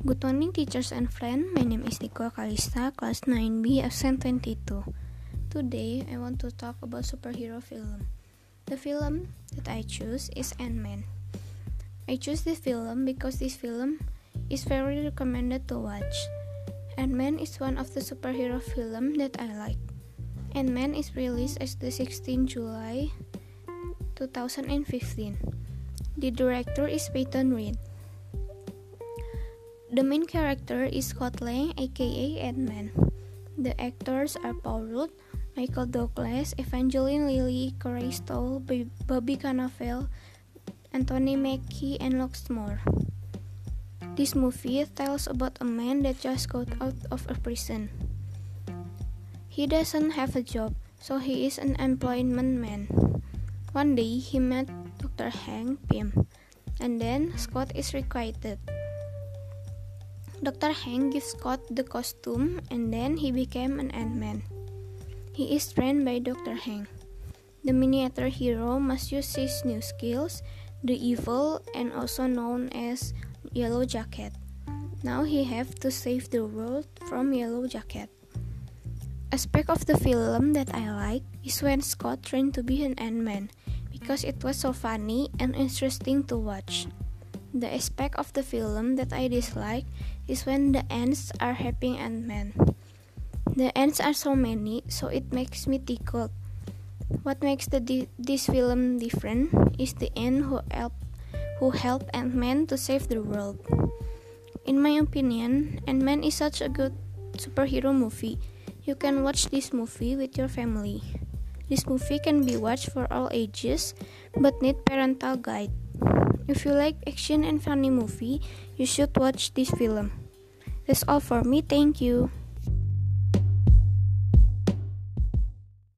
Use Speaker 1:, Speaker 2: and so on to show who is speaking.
Speaker 1: Good morning teachers and friends, my name is Nico Kalista, class 9B, absent 22. Today, I want to talk about superhero film. The film that I choose is Ant-Man. I choose this film because this film is very recommended to watch. Ant-Man is one of the superhero film that I like. Ant-Man is released as the 16th July 2015. The director is Peyton Reed. The main character is Scott Lang, aka Ant-Man. The actors are Paul Rudd, Michael Douglas, Evangeline Lilly, Corey Stoll, Bobby Cannavale, Anthony Mackie, and lots more. This movie tells about a man that just got out of a prison. He doesn't have a job, so he is an employment man. One day, he met Dr. Hank Pym, and then Scott is requited. Dr. Hank gives Scott the costume, and then he became an Ant-Man. He is trained by Dr. Hank. The miniature hero must use his new skills, the evil, and also known as Yellow Jacket. Now he have to save the world from Yellow Jacket. Aspect of the film that I like is when Scott trained to be an Ant-Man, because it was so funny and interesting to watch. The aspect of the film that I dislike is when the ants are helping Ant-Man. The ants are so many, so it makes me tickled. What makes this film different is the ant who helped Ant-Man to save the world. In my opinion, Ant-Man is such a good superhero movie. You can watch this movie with your family. This movie can be watched for all ages, but need parental guide. If you like action and funny movie, you should watch this film. That's all for me, thank you.